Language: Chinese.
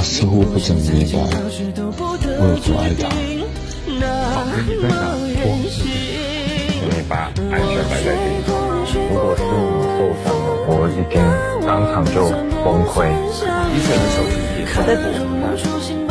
似乎不怎么明白我有多爱他。 好跟你在哪过日子，请你把安全摆在第一。如果是你受伤了，我一定当场就崩溃。 医生的手机也在播。